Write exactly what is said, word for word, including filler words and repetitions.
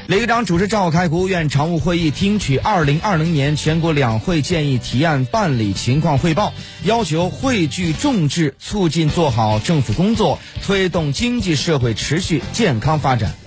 李科长主持召开国务院常务会议，听取二零二零年全国两会建议提案办理情况汇报，要求汇聚众志，促进做好政府工作，推动经济社会持续健康发展。